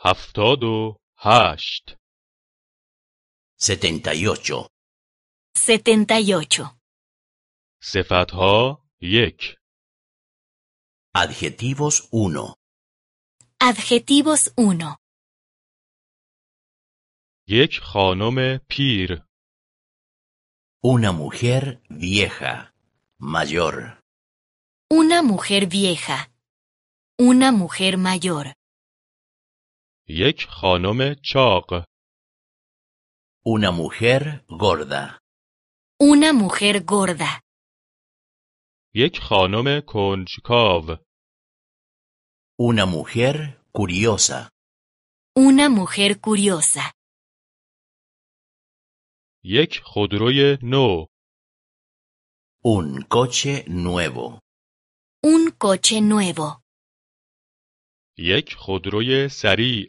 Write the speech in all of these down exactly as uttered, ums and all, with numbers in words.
هفتاد و هشت. setenta y ocho. setenta y ocho. صفتها یک. Adjetivos uno. Adjetivos uno. یک خانم پیر. Una mujer vieja, mayor. Una mujer vieja. Una mujer mayor. یک خانم چاق. Una mujer gorda. Una mujer gorda. یک خانم کنجکاو. Una mujer curiosa. Una mujer curiosa. یک خودروی نو. Un coche nuevo. Un coche nuevo. یک خودروی سریع.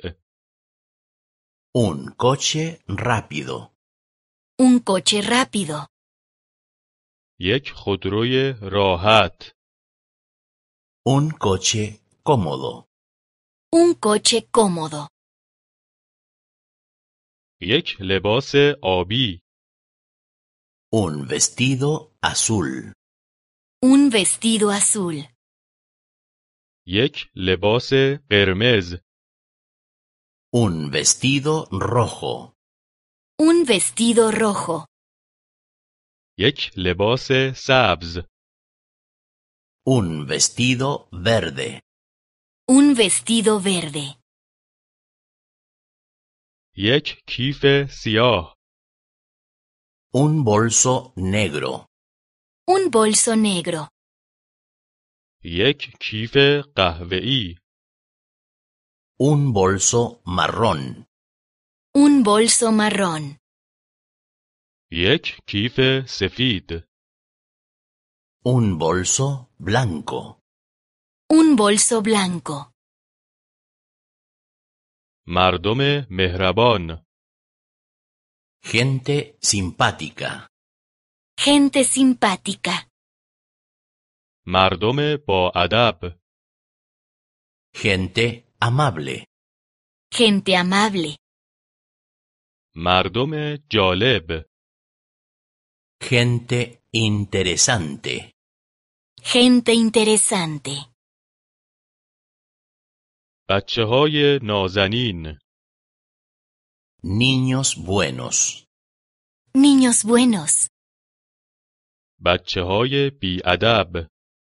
Un coche rápido. Un coche rápido. یک خودروی راحت. Un coche cómodo. Un coche cómodo. یک لباس آبی. Un vestido azul. Un vestido azul. یک لباس قرمز. Un vestido rojo. Un vestido rojo. یک لباس سبز. Un vestido verde. Un vestido verde. یک کیف سیاه. Un bolso negro. Un bolso negro. یک کیف قهوه‌ای. Un bolso marrón. Un bolso marrón. یک کیف سفید. Un bolso blanco. Un bolso blanco. مردم مهربان. Gente simpática. Gente simpática. مردم با ادب. Gente amable. Gente amable. مردم جالب. Gente interesante. Gente interesante. بچه های نازنین. Niños buenos. Niños buenos. بچه های بی ادب.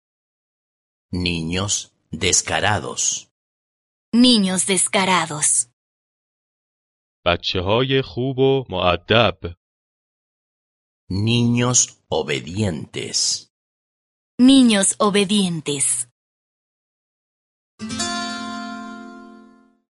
Niños descarados. Niños descarados. بچه های خوب و مؤدب. Niños obedientes. Niños obedientes.